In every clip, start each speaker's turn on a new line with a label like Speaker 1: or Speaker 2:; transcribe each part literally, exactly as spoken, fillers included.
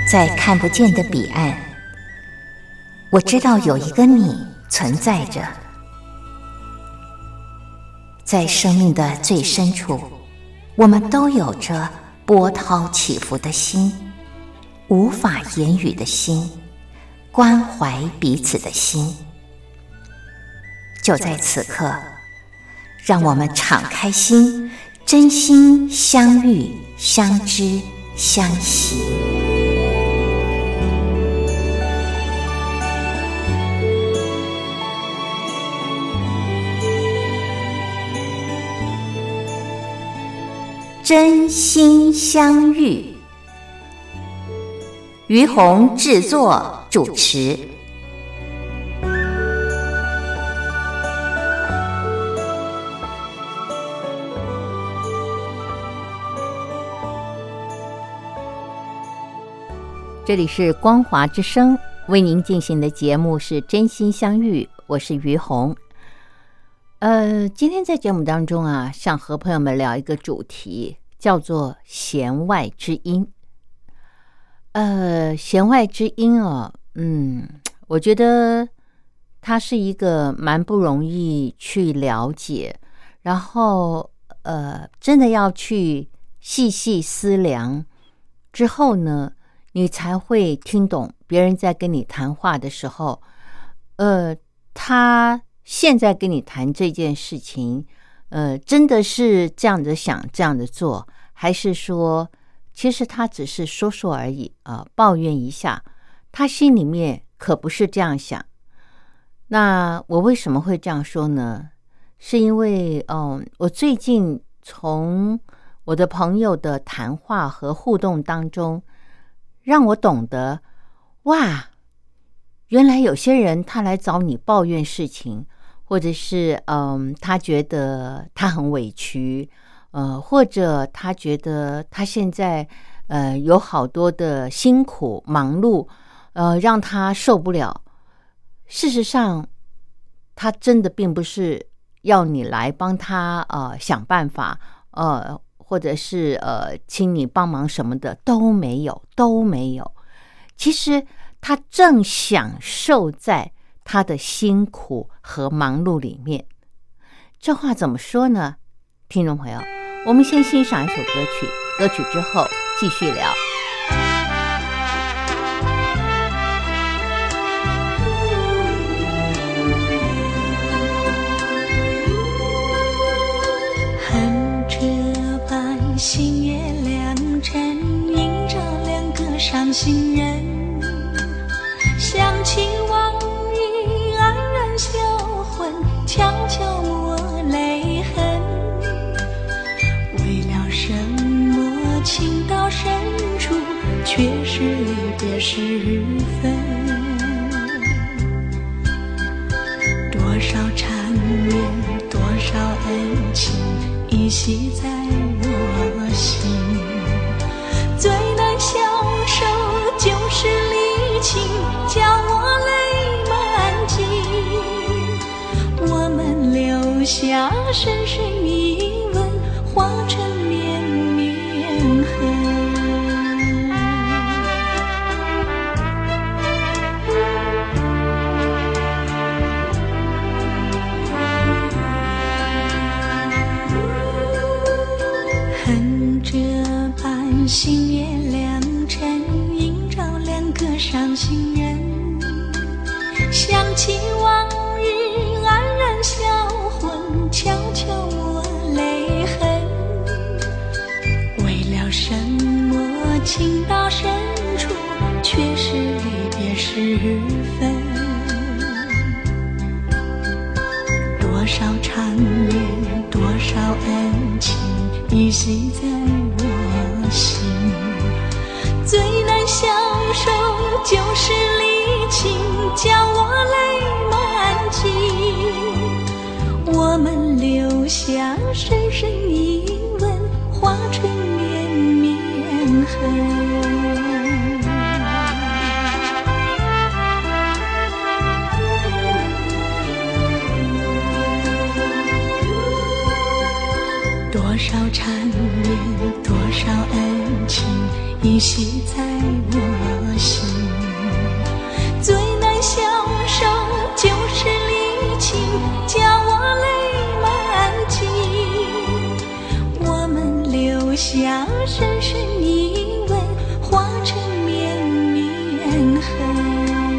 Speaker 1: 在看不见的彼岸，我知道有一个你存在着。在生命的最深处，我们都有着波涛起伏的心，无法言语的心，关怀彼此的心。就在此刻，让我们敞开心，真心相遇、相知、相惜。真心相遇，于红制作主持。
Speaker 2: 这里是光华之声，为您进行的节目是真心相遇，我是于红。呃，今天在节目当中啊，想和朋友们聊一个主题，叫做弦外之音。呃，弦外之音哦，嗯，我觉得它是一个蛮不容易去了解，然后呃，真的要去细细思量之后呢，你才会听懂别人在跟你谈话的时候，呃，他现在跟你谈这件事情，呃，真的是这样子想这样子做，还是说其实他只是说说而已啊、呃，抱怨一下，他心里面可不是这样想。那我为什么会这样说呢？是因为嗯，我最近从我的朋友的谈话和互动当中，让我懂得，哇，原来有些人他来找你抱怨事情，或者是嗯，他觉得他很委屈，呃，或者他觉得他现在呃有好多的辛苦忙碌，呃，让他受不了。事实上，他真的并不是要你来帮他呃想办法，呃，或者是呃请你帮忙什么的都没有，都没有。其实他正享受在他的辛苦和忙碌里面。这话怎么说呢？听众朋友，我们先欣赏一首歌曲，歌曲之后继续聊。
Speaker 3: 恨这般星夜良辰，映照两个伤心人，想起往日黯然销魂，悄悄抹泪痕。为了什么情到深处，却是离别时分。多少缠绵，多少恩情，依稀在我心。最难消受就是离情，叫我泪满襟。我们留下深深疑问，化成绵绵痕。恨这般星夜良辰，映照两个伤心人，想起往日黯然销魂，悄悄抹泪痕。为了什么情到深处，却是离别时分。多少缠绵，多少恩情，依稀在我心。最难消受就是离情，叫我泪满襟。我们留下深深疑问，化成绵绵痕。多少缠绵，多少恩情，依稀在我下深深依偎，化成绵绵痕。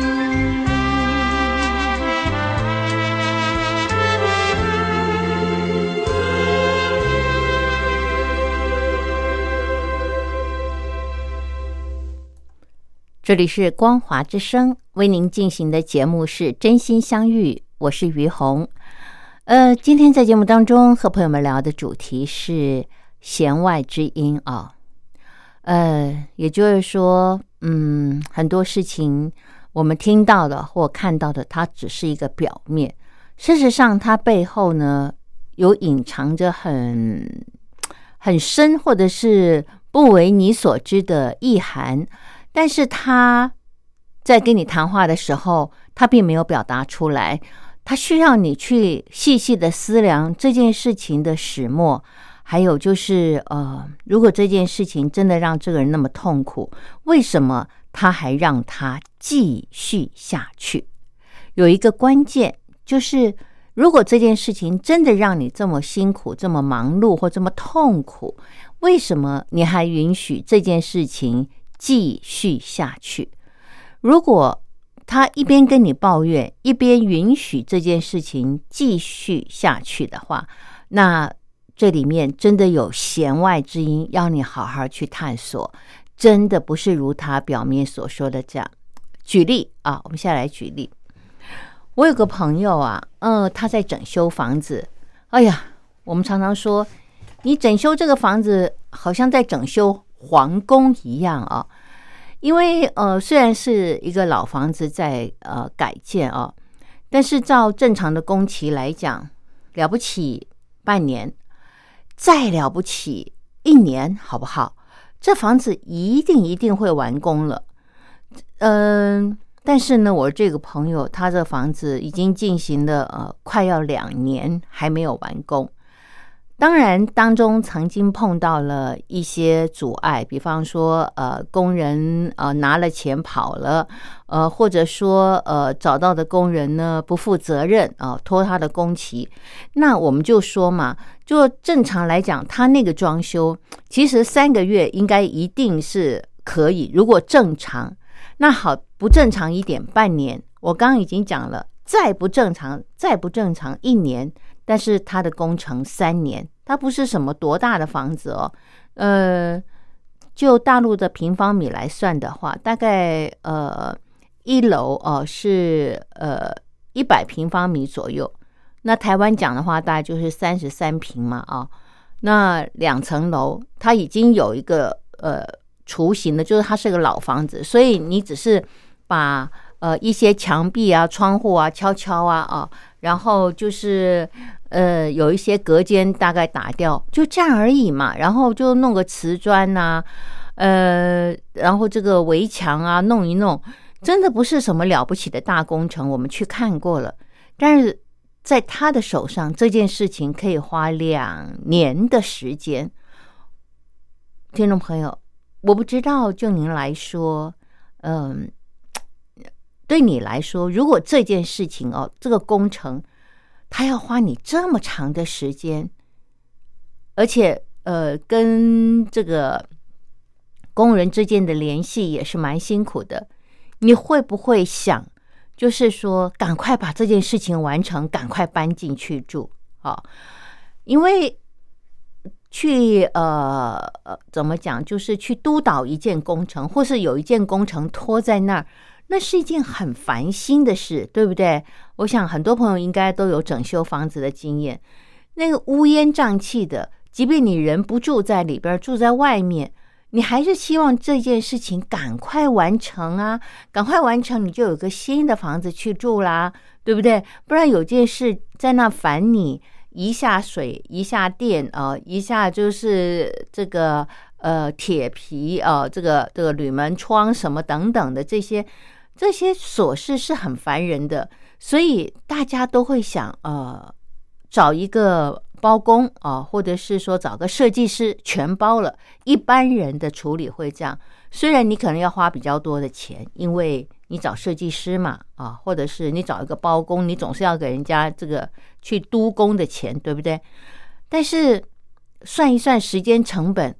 Speaker 2: 这里是光华之声，为您进行的节目是真心相遇，我是于红。呃，今天在节目当中和朋友们聊的主题是弦外之音啊。呃，也就是说，嗯，很多事情我们听到的或看到的，它只是一个表面，事实上它背后呢有隐藏着很很深或者是不为你所知的意涵。但是他在跟你谈话的时候，他并没有表达出来，他需要你去细细的思量这件事情的始末，还有就是呃，如果这件事情真的让这个人那么痛苦，为什么他还让他继续下去？有一个关键就是，如果这件事情真的让你这么辛苦、这么忙碌或这么痛苦，为什么你还允许这件事情继续下去？如果他一边跟你抱怨，一边允许这件事情继续下去的话，那这里面真的有弦外之音，要你好好去探索，真的不是如他表面所说的这样。举例啊，我们现在来举例。我有个朋友啊，呃，他在整修房子。哎呀，我们常常说，你整修这个房子，好像在整修皇宫一样啊，因为呃虽然是一个老房子在呃改建啊，但是照正常的工期来讲，了不起半年，再了不起一年，好不好？这房子一定一定会完工了。嗯、呃，但是呢，我这个朋友他这房子已经进行了呃快要两年还没有完工。当然当中曾经碰到了一些阻碍，比方说呃工人呃拿了钱跑了，呃或者说呃找到的工人呢不负责任啊、呃、拖他的工期。那我们就说嘛，就正常来讲，他那个装修其实三个月应该一定是可以，如果正常。那好，不正常一点半年，我刚刚已经讲了，再不正常再不正常一年，但是它的工程三年，它不是什么多大的房子哦，呃，就大陆的平方米来算的话，大概呃一楼哦、呃、是呃一百平方米左右，那台湾讲的话大概就是三十三平嘛啊、哦，那两层楼它已经有一个呃雏形的，就是它是个老房子，所以你只是把呃一些墙壁啊、窗户啊敲敲啊啊，然后就是呃有一些隔间大概打掉，就这样而已嘛。然后就弄个瓷砖啊，呃，然后这个围墙啊弄一弄，真的不是什么了不起的大工程，我们去看过了。但是在他的手上，这件事情可以花两年的时间。听众朋友，我不知道就您来说，嗯，对你来说，如果这件事情哦，这个工程，它要花你这么长的时间，而且呃，跟这个工人之间的联系也是蛮辛苦的，你会不会想，就是说，赶快把这件事情完成，赶快搬进去住啊、哦？因为去呃呃怎么讲，就是去督导一件工程，或是有一件工程拖在那儿，那是一件很烦心的事，对不对？我想很多朋友应该都有整修房子的经验，那个乌烟瘴气的，即便你人不住在里边，住在外面，你还是希望这件事情赶快完成啊，赶快完成，你就有个新的房子去住啦，对不对？不然有件事在那烦你，一下水一下电啊、呃，一下就是这个呃铁皮啊、呃，这个这个铝门窗什么等等的这些这些琐事是很烦人的，所以大家都会想呃找一个包工啊、呃，或者是说找个设计师全包了。一般人的处理会这样，虽然你可能要花比较多的钱，因为你找设计师嘛啊，或者是你找一个包工，你总是要给人家这个去督工的钱，对不对？但是算一算时间成本，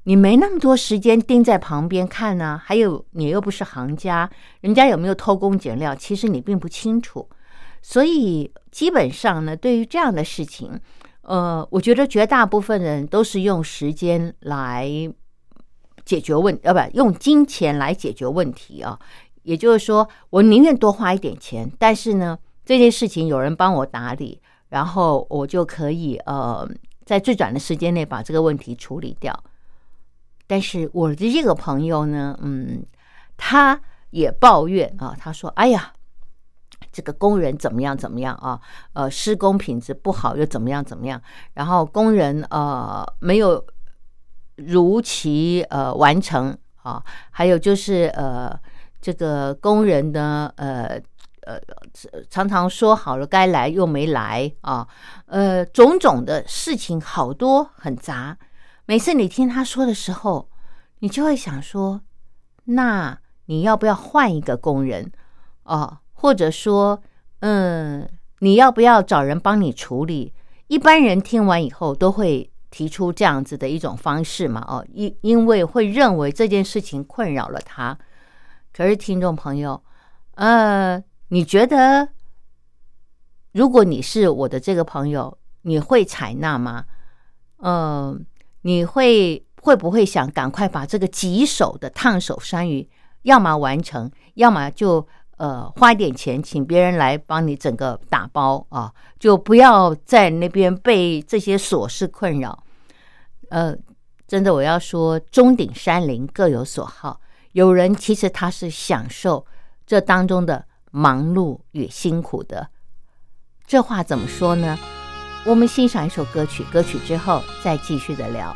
Speaker 2: 你没那么多时间盯在旁边看啊，还有你又不是行家，人家有没有偷工减料，其实你并不清楚。所以基本上呢，对于这样的事情，呃，我觉得绝大部分人都是用时间来解决问，呃，不，用金钱来解决问题啊。也就是说，我宁愿多花一点钱，但是呢，这件事情有人帮我打理，然后我就可以呃，在最短的时间内把这个问题处理掉。但是我的这个朋友呢，嗯，他也抱怨啊，他说：“哎呀，这个工人怎么样怎么样啊？呃，施工品质不好又怎么样怎么样？然后工人呃没有如期呃完成啊，还有就是呃这个工人呢呃呃常常说好了该来又没来啊，呃种种的事情好多很杂。每次你听他说的时候，你就会想说，那你要不要换一个工人啊？或者说，嗯，你要不要找人帮你处理？一般人听完以后都会提出这样子的一种方式嘛，哦，因因为会认为这件事情困扰了他。可是听众朋友，呃，你觉得如果你是我的这个朋友，你会采纳吗？嗯、呃，你会会不会想赶快把这个棘手的烫手山芋，要么完成，要么就呃花一点钱请别人来帮你整个打包啊，就不要在那边被这些琐事困扰。呃，真的我要说，钟鼎山林各有所好，有人其实他是享受这当中的忙碌与辛苦的。这话怎么说呢？我们欣赏一首歌曲，歌曲之后再继续的聊。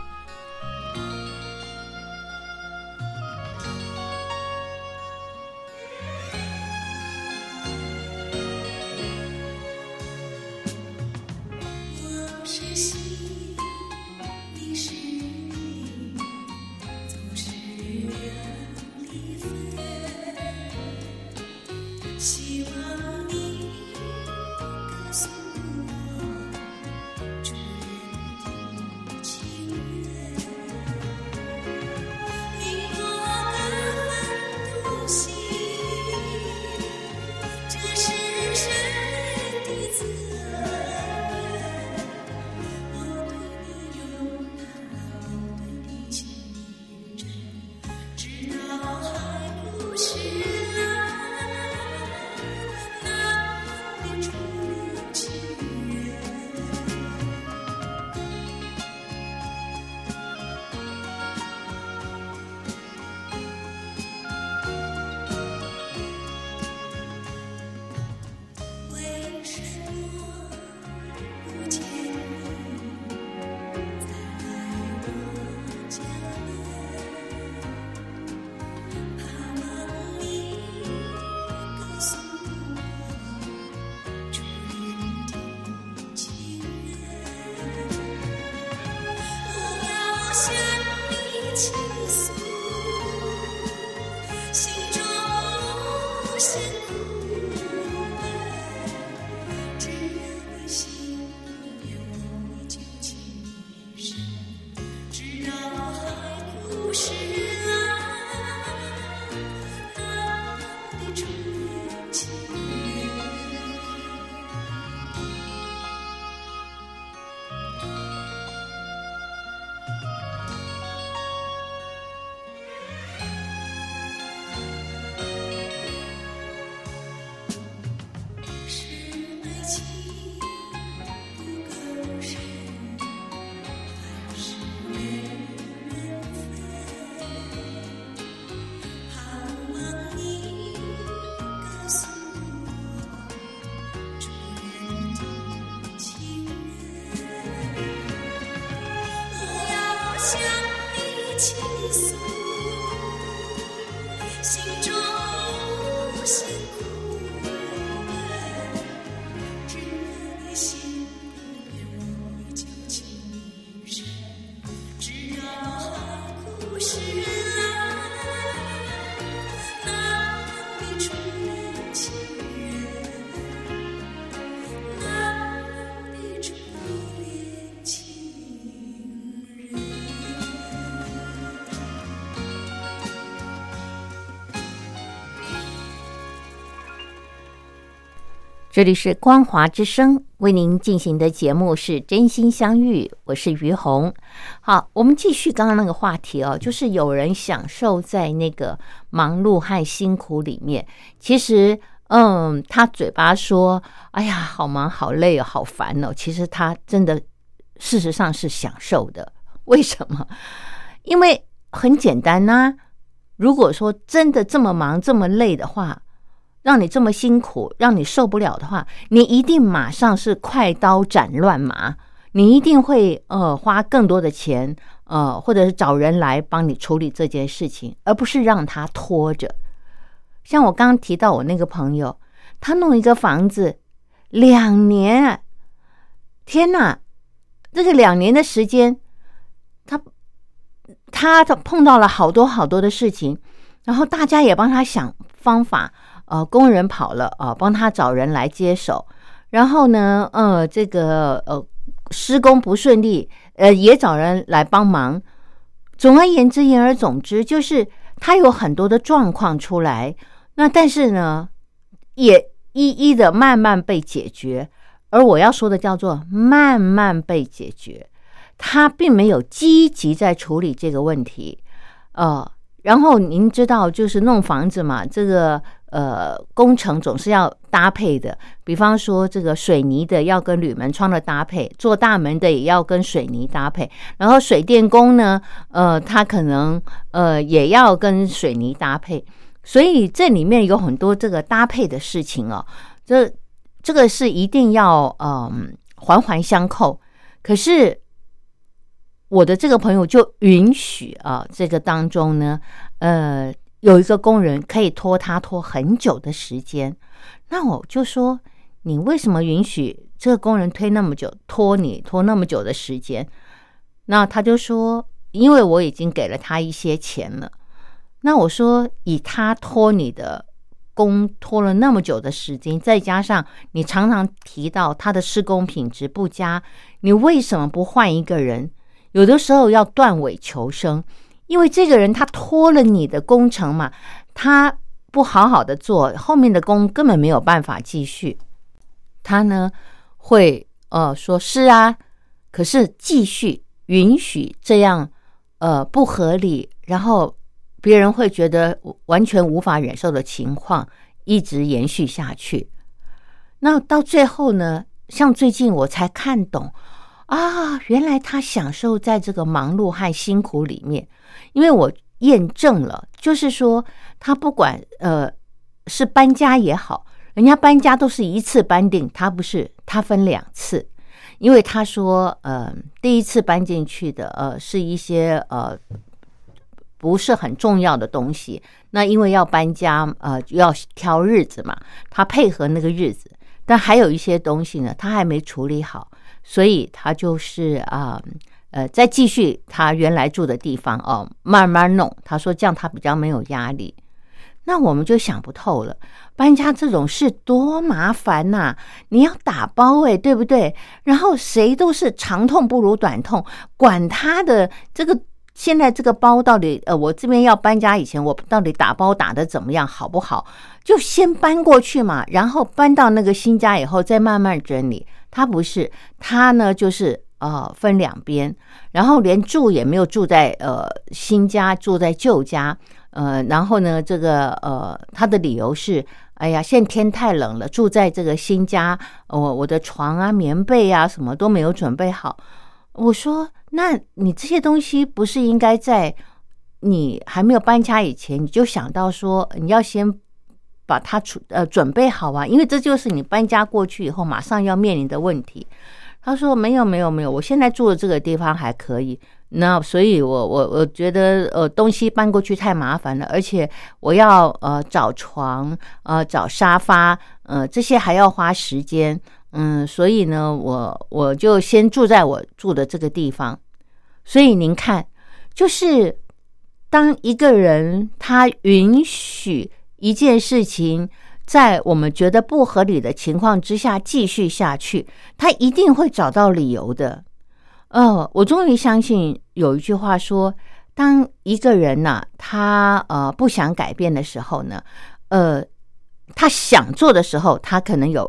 Speaker 2: 这里是光华之声，为您进行的节目是真心相遇，我是于红。好，我们继续刚刚那个话题哦，就是有人享受在那个忙碌和辛苦里面，其实嗯，他嘴巴说哎呀好忙好累哦好烦哦，其实他真的事实上是享受的。为什么？因为很简单啊，如果说真的这么忙这么累的话，让你这么辛苦，让你受不了的话，你一定马上是快刀斩乱麻，你一定会呃花更多的钱，呃或者是找人来帮你处理这件事情，而不是让他拖着。像我刚刚提到我那个朋友，他弄一个房子两年，天哪，这个两年的时间，他他碰到了好多好多的事情，然后大家也帮他想方法。呃，工人跑了啊、呃，帮他找人来接手。然后呢，呃，这个呃施工不顺利，呃，也找人来帮忙。总而言之，言而总之，就是他有很多的状况出来。那但是呢，也一一的慢慢被解决。而我要说的叫做慢慢被解决，他并没有积极在处理这个问题。呃，然后您知道，就是弄房子嘛，这个。呃，工程总是要搭配的，比方说这个水泥的要跟铝门窗的搭配，做大门的也要跟水泥搭配，然后水电工呢，呃，他可能呃也要跟水泥搭配，所以这里面有很多这个搭配的事情哦，这这个是一定要嗯、呃、环环相扣。可是我的这个朋友就允许啊，这个当中呢，呃。有一个工人可以拖他拖很久的时间，那我就说你为什么允许这个工人推那么久，拖你拖那么久的时间？那他就说因为我已经给了他一些钱了。那我说以他拖你的工拖了那么久的时间，再加上你常常提到他的施工品质不佳，你为什么不换一个人？有的时候要断尾求生，因为这个人他拖了你的工程嘛，他不好好的做，后面的工根本没有办法继续。他呢会呃说是啊，可是继续允许这样呃不合理，然后别人会觉得完全无法忍受的情况一直延续下去。那到最后呢，像最近我才看懂啊，原来他享受在这个忙碌和辛苦里面。因为我验证了，就是说他不管呃是搬家也好，人家搬家都是一次搬定，他不是，他分两次。因为他说呃第一次搬进去的呃是一些呃不是很重要的东西，那因为要搬家呃要挑日子嘛，他配合那个日子，但还有一些东西呢他还没处理好，所以他就是啊呃，再继续他原来住的地方哦，慢慢弄。他说这样他比较没有压力。那我们就想不透了，搬家这种事多麻烦呐、啊！你要打包诶，对不对？然后谁都是长痛不如短痛，管他的这个现在这个包到底呃，我这边要搬家以前，我到底打包打得怎么样，好不好？就先搬过去嘛，然后搬到那个新家以后再慢慢整理。他不是，他呢就是。呃，分两边，然后连住也没有住在呃新家，住在旧家，呃，然后呢，这个呃，他的理由是，哎呀，现在天太冷了，住在这个新家，我、呃、我的床啊、棉被啊，什么都没有准备好。我说，那你这些东西不是应该在你还没有搬家以前，你就想到说，你要先把它呃准备好啊，因为这就是你搬家过去以后马上要面临的问题。他说没有没有没有，我现在住的这个地方还可以，那所以我我我觉得呃东西搬过去太麻烦了，而且我要呃找床呃找沙发呃这些还要花时间，嗯，所以呢我我就先住在我住的这个地方。所以您看，就是当一个人他允许一件事情在我们觉得不合理的情况之下继续下去，他一定会找到理由的。呃，我终于相信有一句话说，当一个人呢、啊，他呃不想改变的时候呢，呃，他想做的时候，他可能有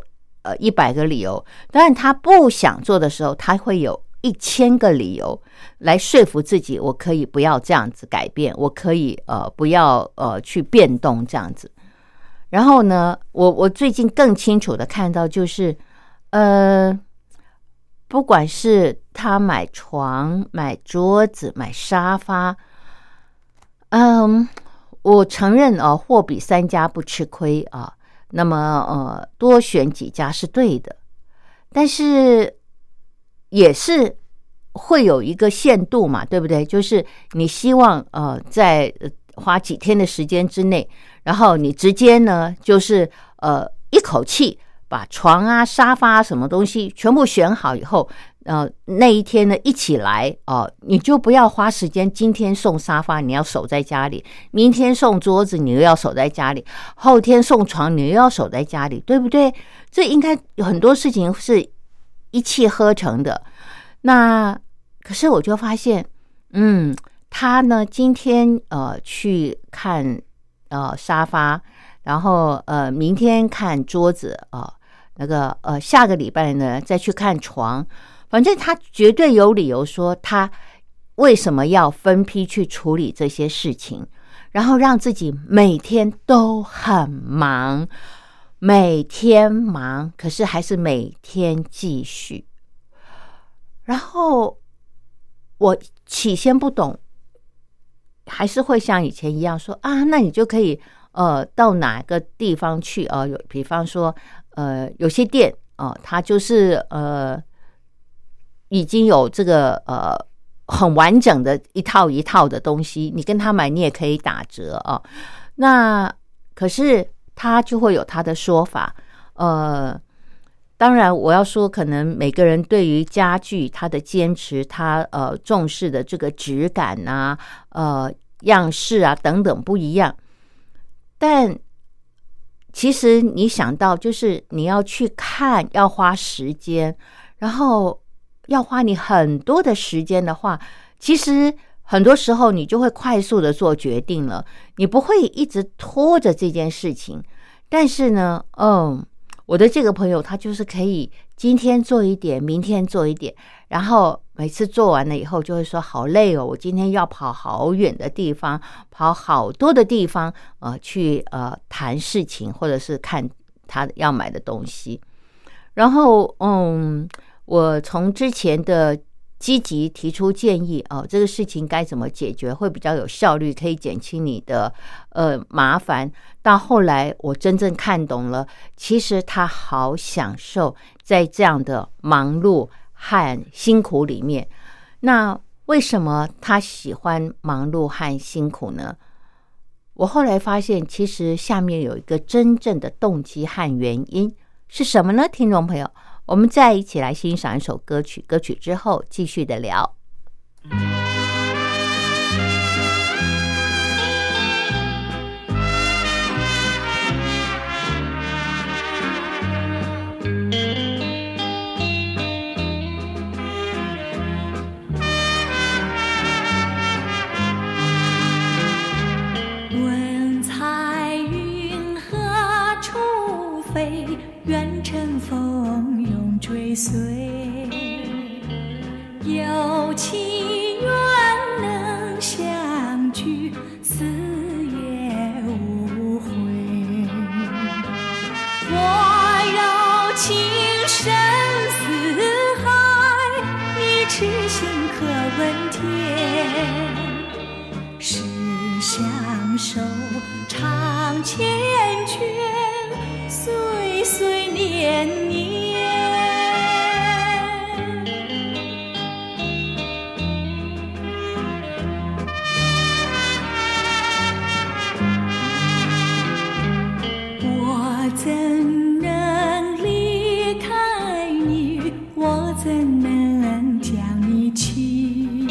Speaker 2: 呃一百个理由，当然他不想做的时候，他会有一千个理由来说服自己，我可以不要这样子改变，我可以呃不要呃去变动这样子。然后呢，我我最近更清楚的看到就是，呃，不管是他买床、买桌子、买沙发，嗯，我承认啊，货比三家不吃亏啊。那么呃，多选几家是对的，但是也是会有一个限度嘛，对不对？就是你希望呃在花几天的时间之内，然后你直接呢就是呃一口气把床啊、沙发啊什么东西全部选好以后，呃那一天呢一起来哦、呃，你就不要花时间，今天送沙发你要守在家里，明天送桌子你又要守在家里，后天送床你又要守在家里，对不对？这应该有很多事情是一气呵成的。那可是我就发现，嗯，他呢今天呃去看呃沙发，然后呃明天看桌子啊、呃，那个呃下个礼拜呢再去看床，反正他绝对有理由说他为什么要分批去处理这些事情，然后让自己每天都很忙，每天忙，可是还是每天继续。然后我起先不懂，还是会像以前一样说啊，那你就可以呃到哪个地方去呃有比方说呃有些店哦、呃，它就是呃已经有这个呃很完整的一套一套的东西，你跟他买你也可以打折啊、哦。那可是他就会有他的说法，呃。当然我要说可能每个人对于家具他的坚持，他呃重视的这个质感啊呃样式啊等等不一样，但其实你想到就是你要去看，要花时间，然后要花你很多的时间的话，其实很多时候你就会快速的做决定了，你不会一直拖着这件事情。但是呢嗯我的这个朋友他就是可以今天做一点，明天做一点，然后每次做完了以后就会说好累哦，我今天要跑好远的地方，跑好多的地方呃，去呃谈事情或者是看他要买的东西。然后嗯，我从之前的积极提出建议哦，这个事情该怎么解决会比较有效率，可以减轻你的呃麻烦，到后来我真正看懂了，其实他好享受在这样的忙碌和辛苦里面。那为什么他喜欢忙碌和辛苦呢？我后来发现其实下面有一个真正的动机和原因是什么呢？听众朋友，我们再一起来欣赏一首歌曲，歌曲之后继续的聊。
Speaker 3: 问彩云何处飞，愿乘风永追随，有情愿能相聚，死也无悔。我有情深似海，你痴心可问天。是相守长缱绻，岁岁年年。我怎能离开你？我怎能将你弃？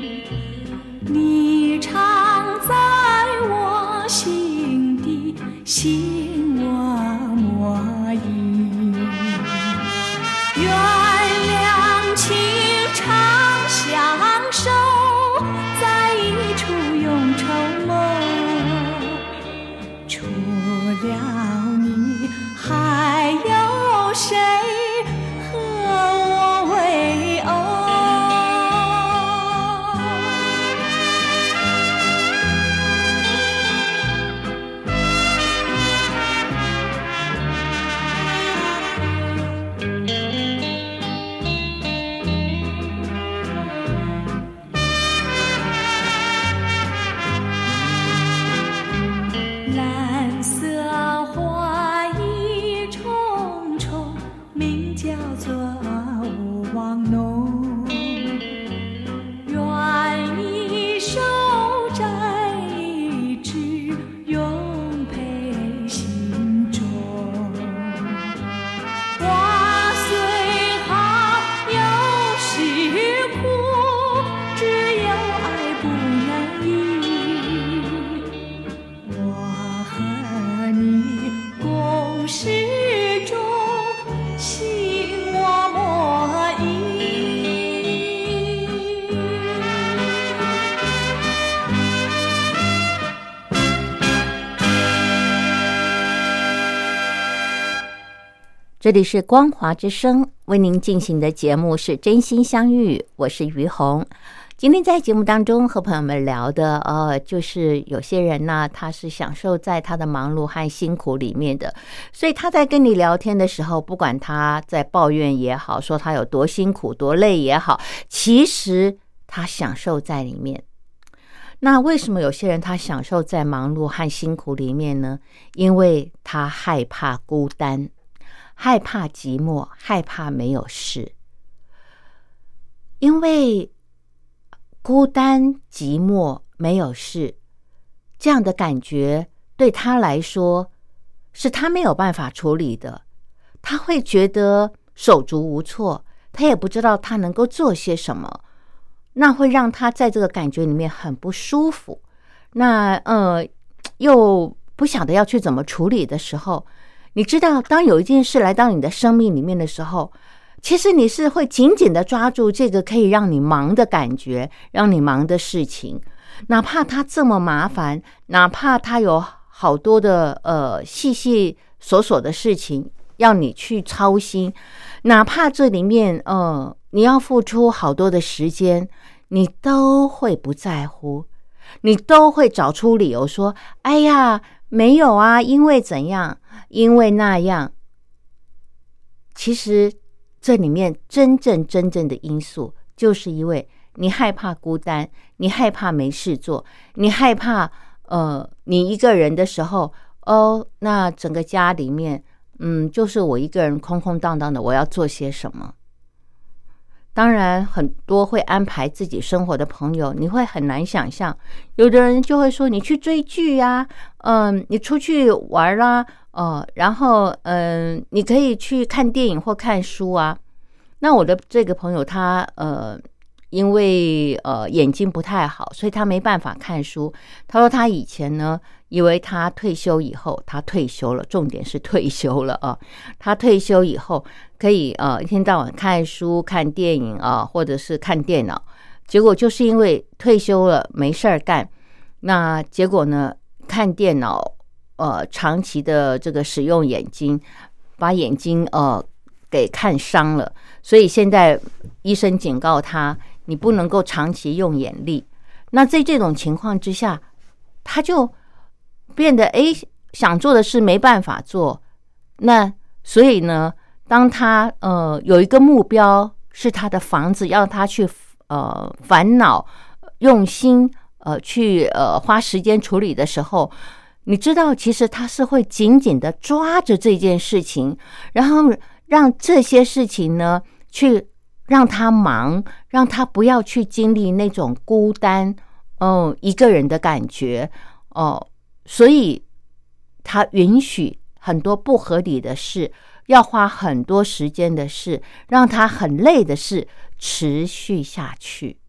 Speaker 3: 你常在我心底，心我莫移。
Speaker 2: 这里是光华之声，为您进行的节目是真心相遇，我是于红。今天在节目当中和朋友们聊的呃，就是有些人呢，他是享受在他的忙碌和辛苦里面的，所以他在跟你聊天的时候，不管他在抱怨也好，说他有多辛苦多累也好，其实他享受在里面。那为什么有些人他享受在忙碌和辛苦里面呢？因为他害怕孤单，害怕寂寞，害怕没有事。因为孤单、寂寞、没有事，这样的感觉对他来说是他没有办法处理的，他会觉得手足无措，他也不知道他能够做些什么，那会让他在这个感觉里面很不舒服。那呃，又不晓得要去怎么处理的时候，你知道，当有一件事来到你的生命里面的时候，其实你是会紧紧的抓住这个可以让你忙的感觉，让你忙的事情，哪怕它这么麻烦，哪怕它有好多的呃细细琐琐的事情要你去操心，哪怕这里面呃你要付出好多的时间，你都会不在乎，你都会找出理由说，哎呀，没有啊，因为怎样，因为那样。其实这里面真正真正的因素，就是因为你害怕孤单，你害怕没事做，你害怕呃，你一个人的时候，哦，那整个家里面，嗯，就是我一个人空空荡荡的，我要做些什么？当然，很多会安排自己生活的朋友，你会很难想象，有的人就会说，你去追剧啊，嗯，你出去玩啦、啊，呃，然后嗯，你可以去看电影或看书啊。那我的这个朋友他呃。因为呃眼睛不太好，所以他没办法看书。他说他以前呢，以为他退休以后，他退休了，重点是退休了啊。他退休以后可以呃一天到晚看书、看电影啊，或者是看电脑。结果就是因为退休了没事儿干，那结果呢，看电脑呃长期的这个使用眼睛，把眼睛呃给看伤了。所以现在医生警告他，你不能够长期用眼力。那在这种情况之下，他就变得诶想做的事没办法做。那所以呢，当他呃有一个目标是他的房子，要他去呃烦恼、用心呃去呃花时间处理的时候，你知道，其实他是会紧紧的抓着这件事情，然后让这些事情呢去让他忙，让他不要去经历那种孤单哦一个人的感觉哦，所以他允许很多不合理的事，要花很多时间的事，让他很累的事持续下去。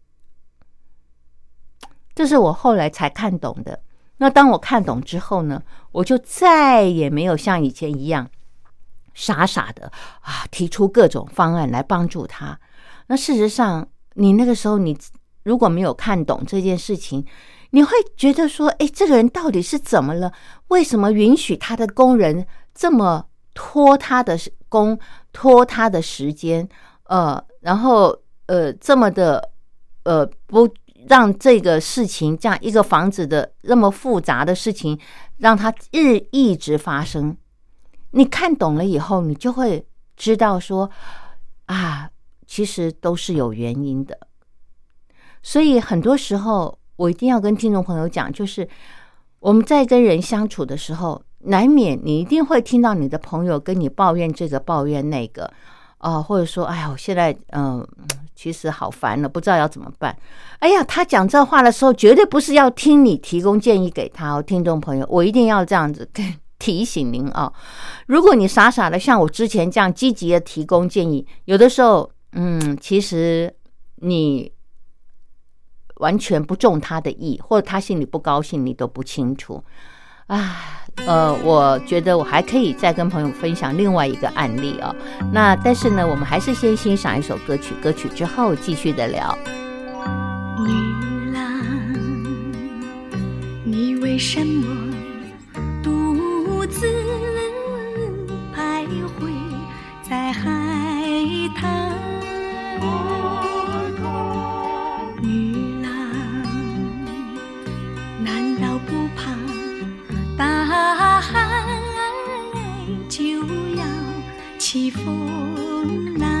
Speaker 2: 这是我后来才看懂的。那当我看懂之后呢，我就再也没有像以前一样傻傻的啊，提出各种方案来帮助他。那事实上，你那个时候你如果没有看懂这件事情，你会觉得说，哎，这个人到底是怎么了？为什么允许他的工人这么拖他的工，拖他的时间？呃，然后呃，这么的呃不让这个事情，这样一个房子的那么复杂的事情，让它日一直发生。你看懂了以后，你就会知道说啊，其实都是有原因的。所以很多时候我一定要跟听众朋友讲，就是我们在跟人相处的时候，难免你一定会听到你的朋友跟你抱怨这个抱怨那个啊、呃，或者说哎呀，我现在嗯、呃，其实好烦了，不知道要怎么办。哎呀，他讲这话的时候绝对不是要听你提供建议给他哦，听众朋友，我一定要这样子跟提醒您啊、哦，如果你傻傻的像我之前这样积极的提供建议，有的时候，嗯，其实你完全不中他的意，或者他心里不高兴，你都不清楚。啊，呃，我觉得我还可以再跟朋友分享另外一个案例啊、哦。那但是呢，我们还是先欣赏一首歌曲，歌曲之后继续的聊。
Speaker 3: 女郎，你为什么独自徘徊在海滩，女郎难道不怕大海就要起风浪？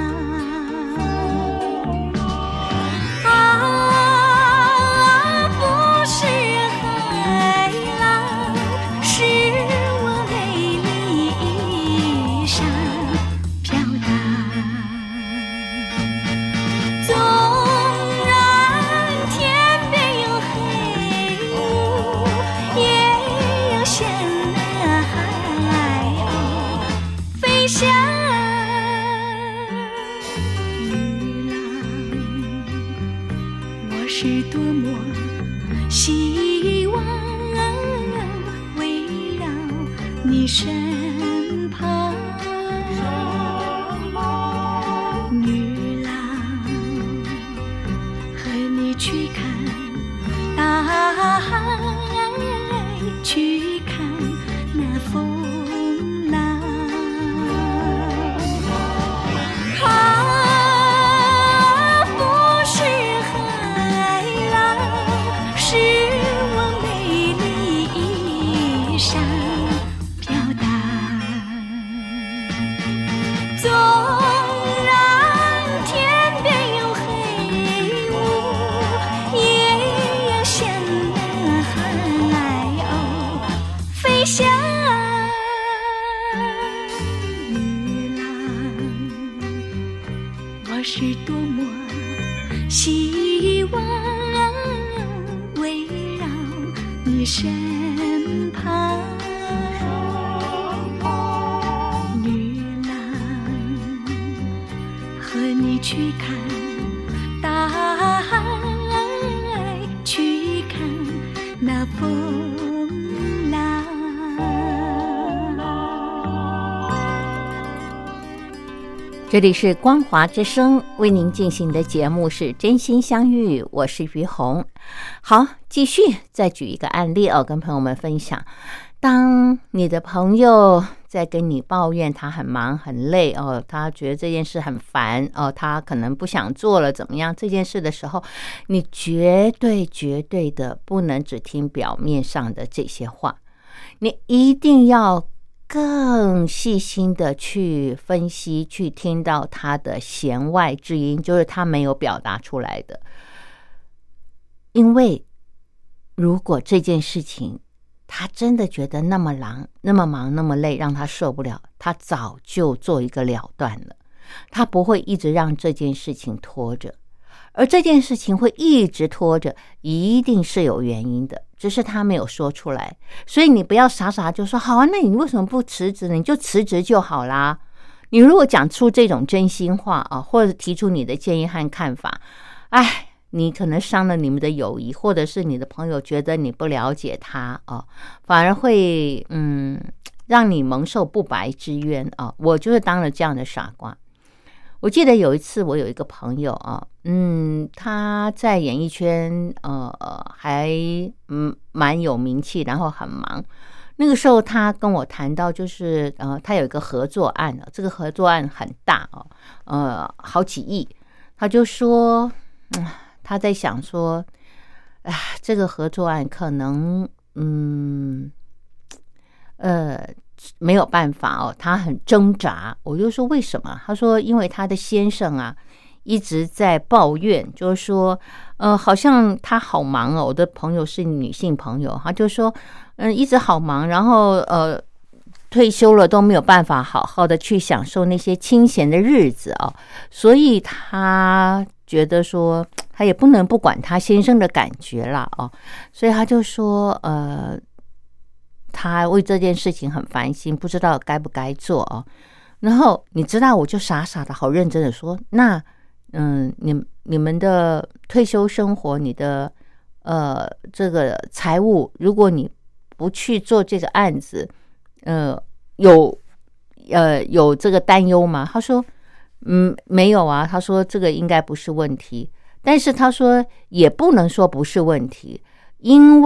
Speaker 3: 是多么希望围绕你身旁，女郎，和你去看大海，去看那风浪。我是多么希望围绕你身旁，女郎，和你去看大海，去看那风浪。
Speaker 2: 这里是光华之声为您进行的节目是真心相遇，我是于红。好，继续再举一个案例哦，跟朋友们分享。当你的朋友在跟你抱怨他很忙很累哦，他觉得这件事很烦哦，他可能不想做了怎么样这件事的时候，你绝对绝对的不能只听表面上的这些话，你一定要更细心的去分析，去听到他的弦外之音，就是他没有表达出来的。因为如果这件事情他真的觉得那么忙那么忙那么累，让他受不了，他早就做一个了断了，他不会一直让这件事情拖着。而这件事情会一直拖着，一定是有原因的，只是他没有说出来。所以你不要傻傻就说好啊，那你为什么不辞职呢？你就辞职就好啦。你如果讲出这种真心话啊，或者提出你的建议和看法，哎，你可能伤了你们的友谊，或者是你的朋友觉得你不了解他啊，反而会嗯让你蒙受不白之冤啊。我就是当了这样的傻瓜。我记得有一次我有一个朋友啊，嗯，他在演艺圈呃还嗯蛮有名气，然后很忙。那个时候他跟我谈到，就是呃他有一个合作案啊，这个合作案很大哦，呃好几亿。他就说，嗯，他在想说，哎，这个合作案可能嗯呃。没有办法哦，他很挣扎。我就说为什么？他说因为他的先生啊一直在抱怨，就是说呃好像他好忙哦。我的朋友是女性朋友，他就说嗯一直好忙，然后呃退休了都没有办法好好的去享受那些清闲的日子哦，所以他觉得说他也不能不管他先生的感觉啦哦，所以他就说呃他为这件事情很烦心，不知道该不该做哦。然后你知道，我就傻傻的好认真的说，那嗯，你你们的退休生活，你的呃这个财务，如果你不去做这个案子，呃，有呃有这个担忧吗？他说，嗯，没有啊。他说这个应该不是问题，但是他说也不能说不是问题。因为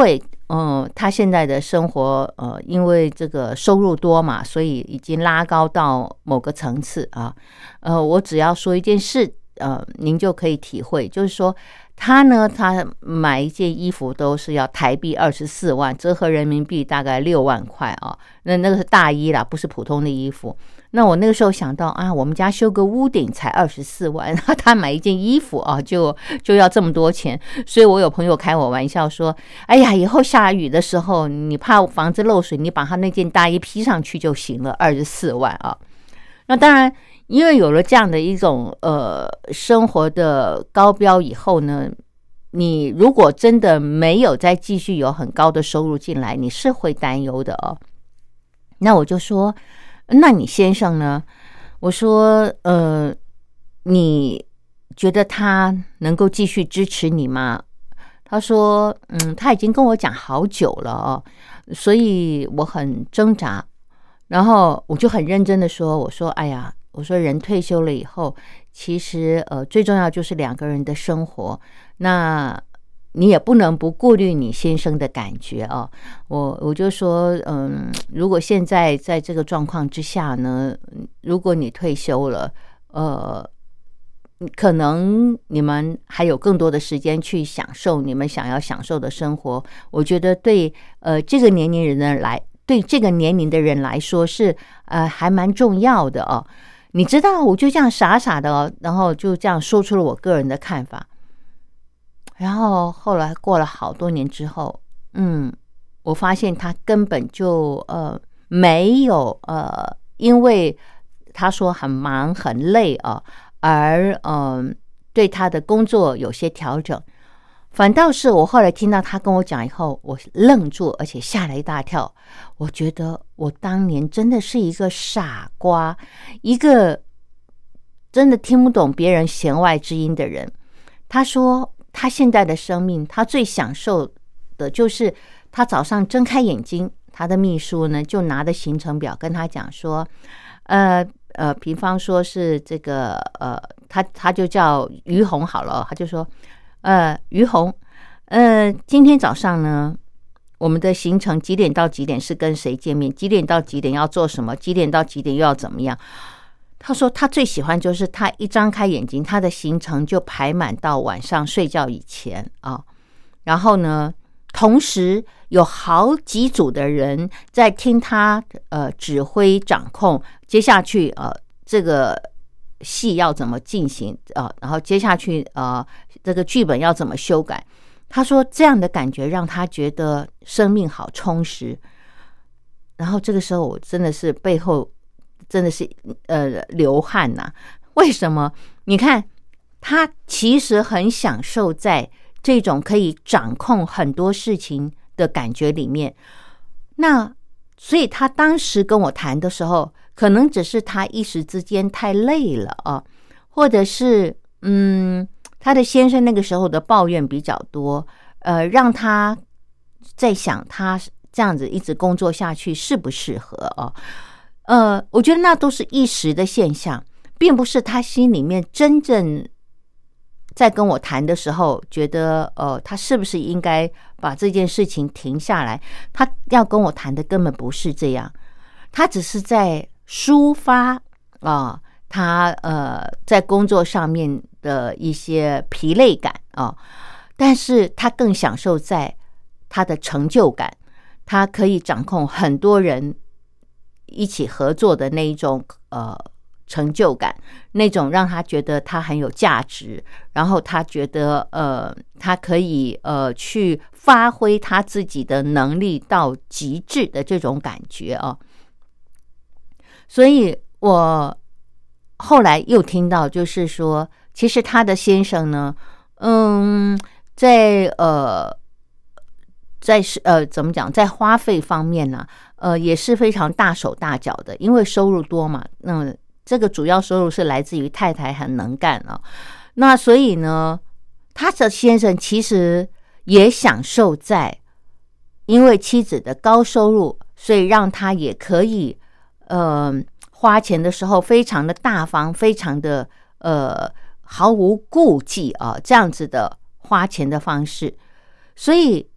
Speaker 2: 嗯，他现在的生活，呃，因为这个收入多嘛，所以已经拉高到某个层次啊。呃，我只要说一件事，呃，您就可以体会，就是说他呢，他买一件衣服都是要台币二十四万，折合人民币大概六万块啊。那那个是大衣啦，不是普通的衣服。那我那个时候想到啊，我们家修个屋顶才二十四万，他买一件衣服啊，就就要这么多钱。所以我有朋友开我玩笑说，哎呀，以后下雨的时候，你怕房子漏水，你把他那件大衣披上去就行了，二十四万啊。那当然，因为有了这样的一种呃生活的高标以后呢，你如果真的没有再继续有很高的收入进来，你是会担忧的哦。那我就说，那你先生呢？我说，呃，你觉得他能够继续支持你吗？他说，嗯，他已经跟我讲好久了哦，所以我很挣扎。然后我就很认真的说，我说，哎呀，我说人退休了以后，其实呃最重要就是两个人的生活，那你也不能不顾虑你先生的感觉哦。我我就说，嗯，如果现在在这个状况之下呢，如果你退休了，呃，可能你们还有更多的时间去享受你们想要享受的生活。我觉得对呃这个年龄人的来，对这个年龄的人来说是呃还蛮重要的哦。你知道，我就这样傻傻的哦，然后就这样说出了我个人的看法。然后后来过了好多年之后，嗯，我发现他根本就呃没有呃，因为他说很忙很累啊，而嗯、呃、对他的工作有些调整。反倒是我后来听到他跟我讲以后，我愣住，而且吓了一大跳。我觉得我当年真的是一个傻瓜，一个真的听不懂别人弦外之音的人。他说他现在的生命，他最享受的就是他早上睁开眼睛，他的秘书呢就拿着行程表跟他讲说，呃呃，比方说是这个呃，他他就叫于红好了，他就说。呃，于红，呃，今天早上呢，我们的行程几点到几点是跟谁见面？几点到几点要做什么？几点到几点又要怎么样？他说他最喜欢就是他一张开眼睛，他的行程就排满到晚上睡觉以前啊。然后呢，同时有好几组的人在听他呃指挥掌控，接下去呃这个。戏要怎么进行啊、呃？然后接下去呃，这个剧本要怎么修改？他说这样的感觉让他觉得生命好充实。然后这个时候我真的是背后真的是呃流汗呐、啊。为什么？你看他其实很享受在这种可以掌控很多事情的感觉里面。那所以他当时跟我谈的时候。可能只是他一时之间太累了啊，或者是嗯，他的先生那个时候的抱怨比较多，呃，让他在想他这样子一直工作下去适不适合啊？呃，我觉得那都是一时的现象，并不是他心里面真正在跟我谈的时候觉得呃，他是不是应该把这件事情停下来？他要跟我谈的根本不是这样，他只是在。抒发啊，他呃在工作上面的一些疲累感啊，但是他更享受在他的成就感，他可以掌控很多人一起合作的那一种呃成就感，那种让他觉得他很有价值，然后他觉得呃他可以呃去发挥他自己的能力到极致的这种感觉啊。所以我后来又听到，就是说，其实他的先生呢，嗯，在呃，在呃怎么讲，在花费方面呢，呃，也是非常大手大脚的，因为收入多嘛。那这个主要收入是来自于太太很能干啊。那所以呢，他的先生其实也享受在，因为妻子的高收入，所以让他也可以。呃，花钱的时候非常的大方，非常的呃毫无顾忌啊，这样子的花钱的方式，所以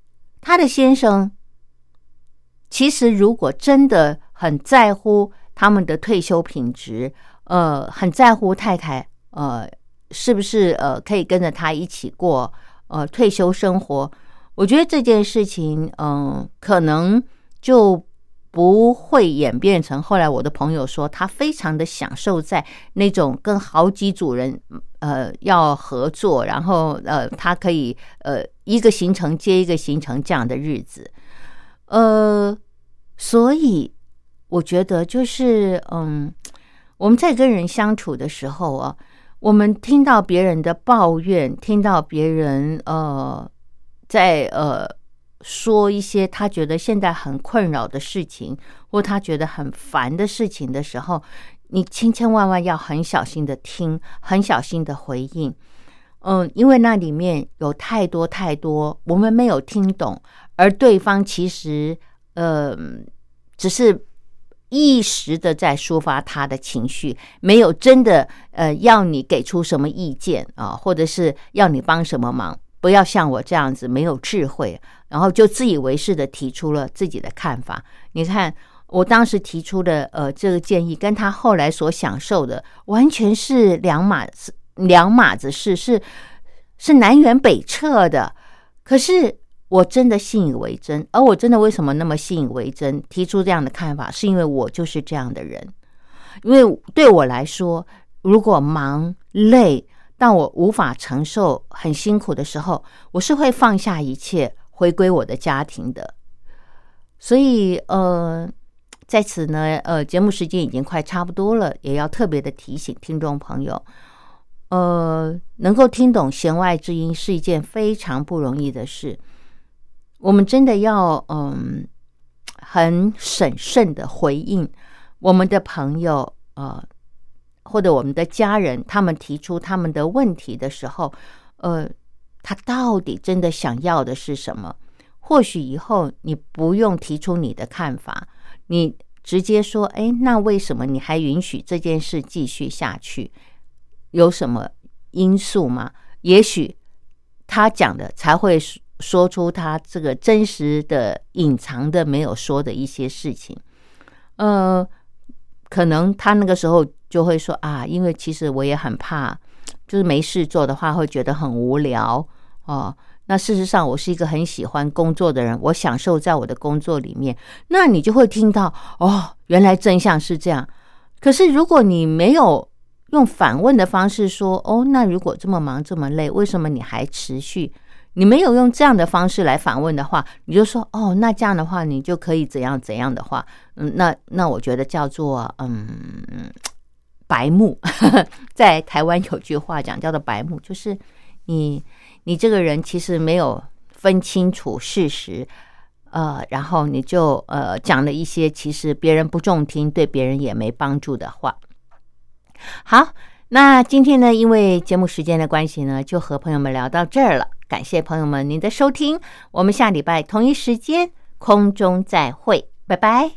Speaker 2: 她的先生其实如果真的很在乎他们的退休品质，呃，很在乎太太呃是不是呃可以跟着他一起过呃退休生活，我觉得这件事情嗯、呃、可能就不会演变成后来我的朋友说他非常的享受在那种跟好几组人呃要合作，然后呃他可以呃一个行程接一个行程这样的日子。呃所以我觉得就是嗯我们在跟人相处的时候啊，我们听到别人的抱怨，听到别人呃在呃说一些他觉得现在很困扰的事情，或他觉得很烦的事情的时候，你千千万万要很小心的听，很小心的回应。嗯，因为那里面有太多太多我们没有听懂，而对方其实呃只是一时的在抒发他的情绪，没有真的呃要你给出什么意见啊，或者是要你帮什么忙。不要像我这样子没有智慧，然后就自以为是的提出了自己的看法。你看我当时提出的呃这个建议跟他后来所享受的完全是两码子两码子事，是是南辕北辙的。可是我真的信以为真，而我真的为什么那么信以为真提出这样的看法，是因为我就是这样的人。因为对我来说，如果忙累但我无法承受很辛苦的时候，我是会放下一切回归我的家庭的。所以呃，在此呢呃，节目时间已经快差不多了，也要特别的提醒听众朋友，呃，能够听懂弦外之音是一件非常不容易的事。我们真的要嗯很审慎的回应我们的朋友呃或者我们的家人，他们提出他们的问题的时候，呃，他到底真的想要的是什么？或许以后你不用提出你的看法，你直接说，哎，那为什么你还允许这件事继续下去？有什么因素吗？也许他讲的才会说出他这个真实的、隐藏的、没有说的一些事情。呃，可能他那个时候就会说啊，因为其实我也很怕，就是没事做的话会觉得很无聊哦。那事实上我是一个很喜欢工作的人，我享受在我的工作里面。那你就会听到哦，原来真相是这样。可是如果你没有用反问的方式说，哦，那如果这么忙这么累，为什么你还持续？你没有用这样的方式来反问的话，你就说哦，那这样的话你就可以怎样怎样的话，嗯，那那我觉得叫做嗯白目。在台湾有句话讲叫做白目，就是你你这个人其实没有分清楚事实，呃，然后你就呃讲了一些其实别人不中听，对别人也没帮助的话。好，那今天呢，因为节目时间的关系呢，就和朋友们聊到这儿了。感谢朋友们您的收听，我们下礼拜同一时间空中再会，拜拜。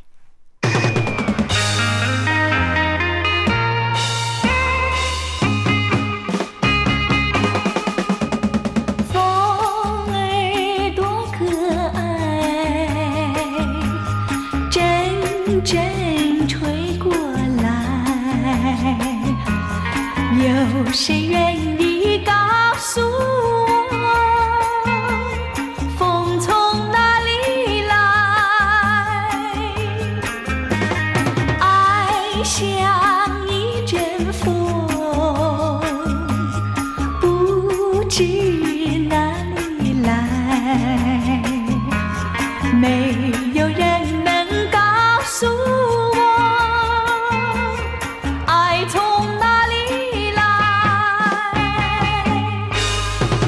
Speaker 3: 风儿多可爱，阵阵吹过来，有谁愿意告诉我，风从哪里来？爱像一阵风，不知哪里来，没有人能告诉我，爱从哪里来。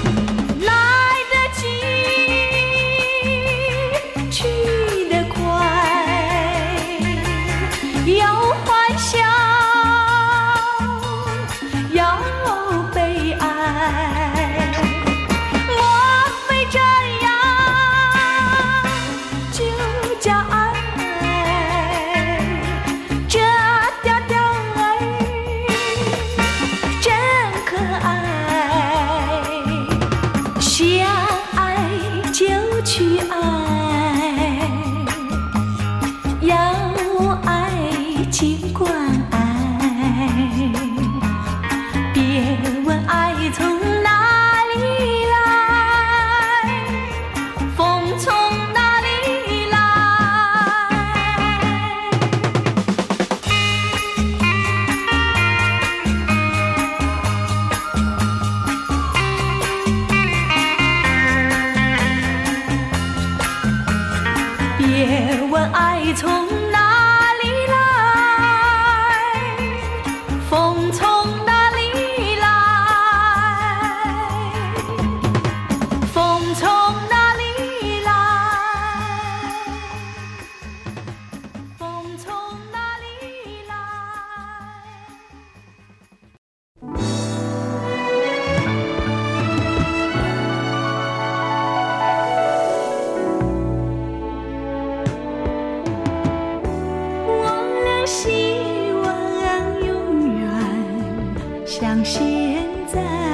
Speaker 3: 风从哪里来？风从哪里来？风从哪里来？我俩希望永远像现在。